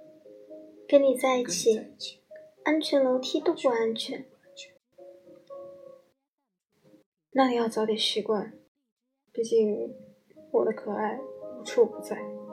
跟你在一起，安全楼梯都不安全。 那你要早点习惯，毕竟我的可爱无处不在。